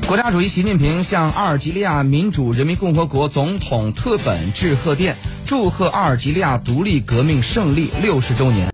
国家主席习近平向阿尔及利亚民主人民共和国总统特本致贺电，祝贺阿尔及利亚独立革命胜利60周年。